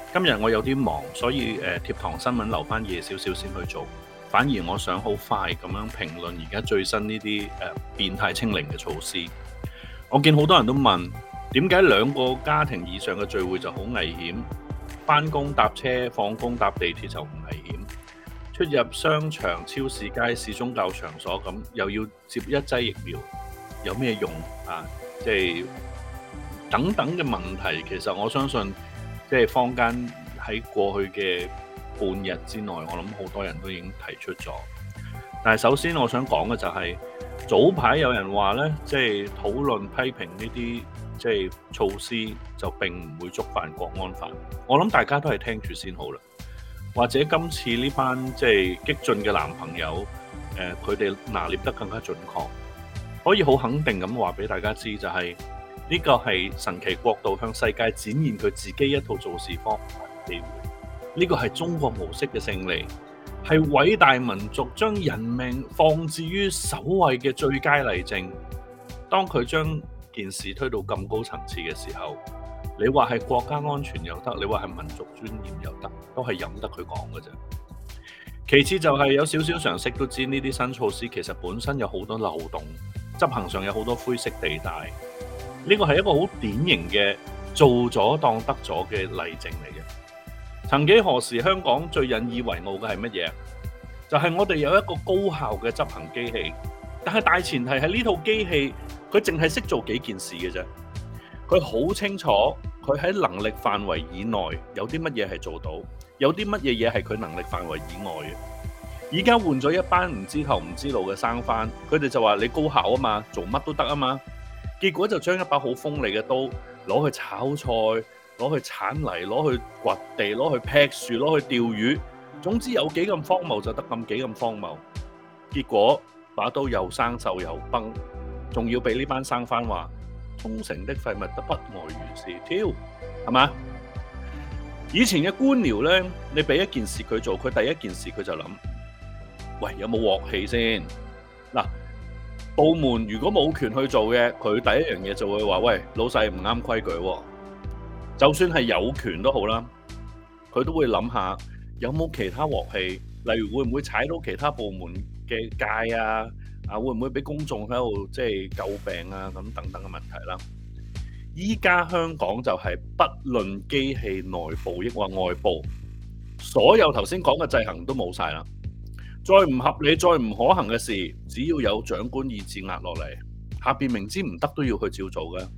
今日我有啲忙，所以貼堂新聞留翻夜少少先去做。反而我想好快咁樣評論而家最新呢啲變態清零嘅措施。我見好多人都問，點解兩個家庭以上嘅聚會就好危險？返工搭車、放工搭地鐵就唔危險？出入商場、超市、街市、宗教場所咁，又要接一劑疫苗，有咩用啊？即係等等嘅問題，其實我相信，即係坊間喺過去嘅半日之內，我諗好多人都已經提出咗。但係首先我想講嘅就係、早排有人話呢，即係討論批評呢啲即係措施，就並唔會觸犯國安法。我諗大家都係聽住先好啦。或者今次呢班即係激進嘅男朋友，佢哋拿捏得更加準確，可以好肯定咁話俾大家知，就係呢個係神奇國度向世界展現佢自己一套做事方法嘅機會。呢個係中國模式嘅勝利，係偉大民族將人命放置於首位嘅最佳例證。當佢將件事推到咁高層次嘅時候，你話係國家安全又得，你話係民族尊嚴又得，都係任得佢講嘅啫。其次就係有少少常識都知，呢啲新措施其實本身有好多漏洞，執行上有好多灰色地帶。呢個係一個好典型嘅做咗當得咗嘅例證嚟嘅。曾幾何時，香港最引以為傲嘅係乜嘢？就係我哋有一個高效嘅執行機器，但係大前提係呢套機器佢淨係識做幾件事嘅啫。佢好清楚佢喺能力範圍以內有啲乜嘢係做到，有啲乜嘢嘢係佢能力範圍以外嘅。而家換咗一班唔知頭唔知路嘅生番，佢哋就話你高效啊嘛，做乜都得啊嘛。結果就將一把好鋒利嘅刀攞去炒菜，攞去鏟泥，攞去掘地，攞去劈樹，攞去釣魚。總之有幾咁荒謬就得幾咁荒謬。結果把刀又生鏽又崩，仲要俾呢班生番話忠誠的廢物都不外如是，挑係嘛？以前嘅官僚呢，你俾一件事佢做，佢第一件事佢就諗，喂，有冇鑊氣先？嗱，部門如果冇權去做嘅，佢第一樣嘢就會話，喂，老細唔啱規矩喎。就算係有權都好啦，佢都會諗下有冇其他鑊氣，例如會唔會踩到其他部門嘅界啊？會唔會俾公眾喺度即係詬病啊？咁等等嘅問題啦。依家香港就係不論機器內部抑或外部，所有頭先講嘅制衡都冇晒啦。再唔合理、再唔可行嘅事，只要有長官意志壓落嚟，下邊明知唔得都要去照做嘅。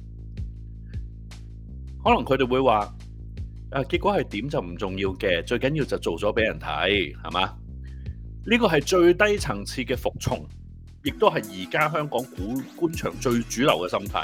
可能佢哋會話，結果係點就唔重要嘅，最緊要就做咗俾人睇，係嘛？呢個係最低層次嘅服從。亦都係而家香港官場最主流嘅心態。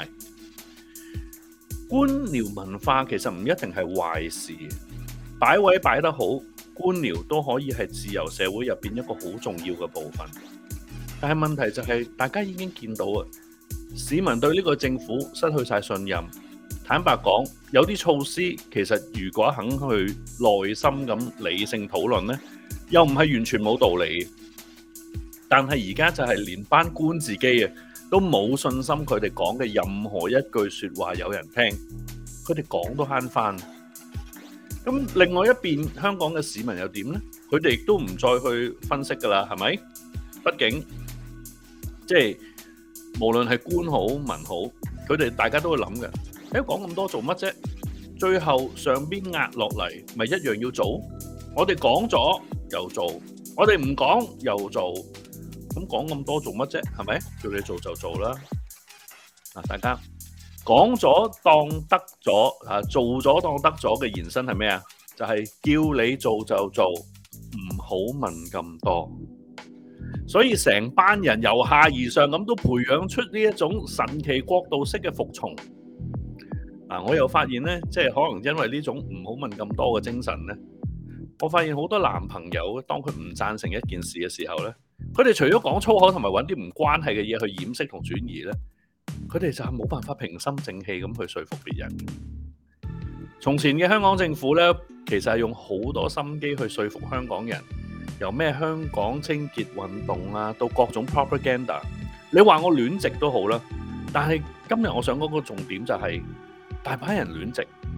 官僚文化其實唔一定係壞事，擺位擺得好，官僚都可以係自由社會入邊一個好重要嘅部分。但係問題就係，大家已經見到啊，市民對呢個政府失去晒信任。坦白講，有啲措施其實如果肯去耐心咁理性討論呢，又唔係完全冇道理。但係而家就係連班官自己啊，都冇信心佢哋講嘅任何一句說話有人聽，佢哋講都慳翻。咁另外一邊，香港嘅市民又點呢？佢哋亦都唔再去分析噶啦，係咪？畢竟即係無論係官好民好，佢哋大家都會諗嘅。講咁多做乜啫？最後上邊壓落嚟，咪一樣要做。我哋講咗又做，我哋唔講又做。咁講咁多做乜啫？係咪？叫你做就做啦。大家講咗當得咗，做咗當得咗嘅延伸係咩啊？就係叫你做就做，唔好問咁多。所以成班人由下而上咁都培養出呢一種神奇國度式嘅服從。我又發現呢，即係可能因為呢種唔好問咁多嘅精神呢，我發現好多男朋友當佢唔贊成一件事嘅時候呢，佢哋除咗講粗口同埋揾啲唔關係嘅嘢去掩飾同轉移呢，佢哋就係冇辦法平心靜氣咁去說服別人。從前嘅香港政府呢，其實係用好多心機去說服香港人，由咩香港清潔運動啊，到各種 propaganda。你話我亂直都好啦，但係今日我想講個重點就係，大把人亂直，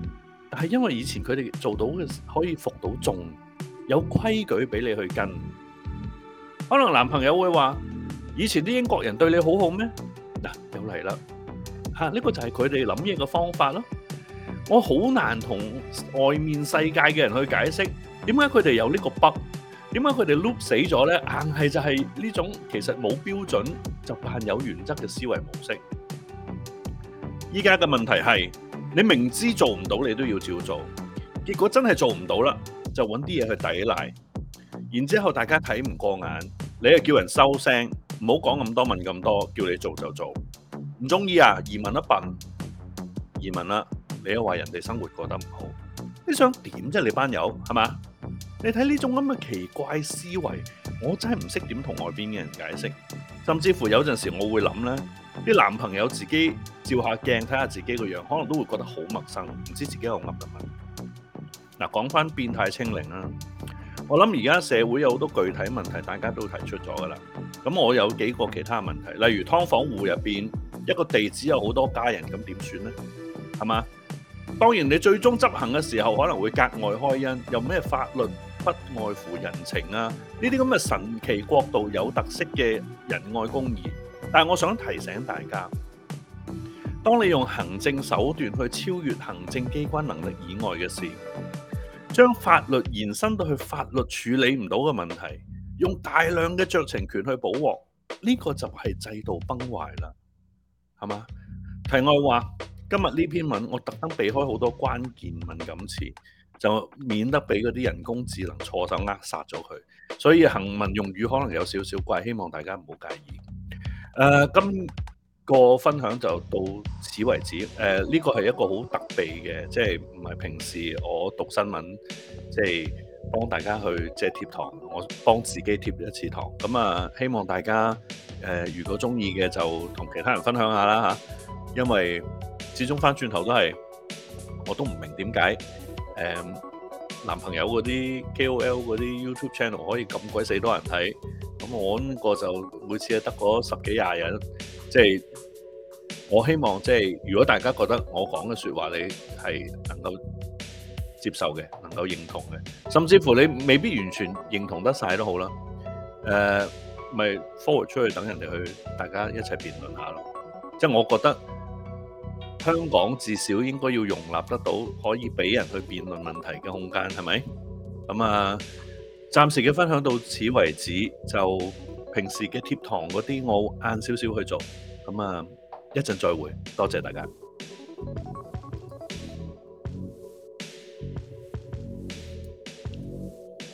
但係因為以前佢哋做到嘅可以服到眾，有規矩俾你去跟。可能男朋友會話：以前啲英國人對你好好咩？嗱，又嚟啦嚇！呢個就係佢哋諗嘢嘅方法咯。我好難同外面世界嘅人去解釋點解佢哋有呢個 bug，點解佢哋 loop 死咗咧？硬係就係呢種其實冇標準就扮有原則嘅思維模式。依家嘅問題係你明知做唔到，你都要照做，結果真係做唔到啦，就揾啲嘢去抵賴，然之後大家睇唔過眼，你又叫人收聲，唔好講咁多問咁多，叫你做就做，唔中意啊移民一笨，移民啦，你又話人哋生活過得唔好，你想點啫？你班友係嘛？你睇呢種咁嘅奇怪思維，我真係唔識點同外邊嘅人解釋，甚至乎有陣時我會諗咧，啲男朋友自己照下鏡睇下自己個樣，可能都會覺得好陌生，唔知自己有噏緊乜。嗱，講翻變態清零啦，我諗而家社會有好多具體問題，大家都提出咗噶啦。咁我有幾個其他問題，例如劏房戶入邊一個地址有好多家人，咁點算呢？係嘛？當然你最終執行嘅時候可能會格外開恩，有咩法律不外乎人情啊？呢啲咁嘅神奇國度有特色嘅仁愛公義，但係我想提醒大家，當你用行政手段去超越行政機關能力以外嘅事，將法律延伸到去法律處理唔到嘅問題，用大量嘅酌情權去補鑊，呢個就係制度崩壞啦，係嘛？題外話，今日呢篇文我特登避開好多關鍵敏感詞，就免得俾嗰啲人工智能錯手扼殺咗佢，所以行文用語可能有少少怪，希望大家唔好介意。今個分享就到此為止。呢個係一個好特別嘅，即係唔係平時我讀新聞，即係幫大家去即係貼堂，我幫自己貼一次堂。咁啊，希望大家如果中意嘅就同其他人分享下啦嚇，因為始終翻轉頭都係我都唔明點解男朋友嗰啲 KOL 嗰啲 YouTube channel 可以咁鬼死多人睇，咁我呢個就每次係得嗰10幾20人，即係我希望即係如果大家覺得我講嘅説話你係能夠接受嘅，能夠認同嘅，甚至乎你未必完全認同得晒都好啦，咪 forward 出去等人哋去大家一齊辯論下咯。即係我覺得香港至少應該要容納得到可以俾人去辯論問題嘅空間，係咪？咁啊，暫時嘅分享到此為止，就平時嘅貼堂嗰啲我晏少少去做，咁啊一陣再會，多謝大家。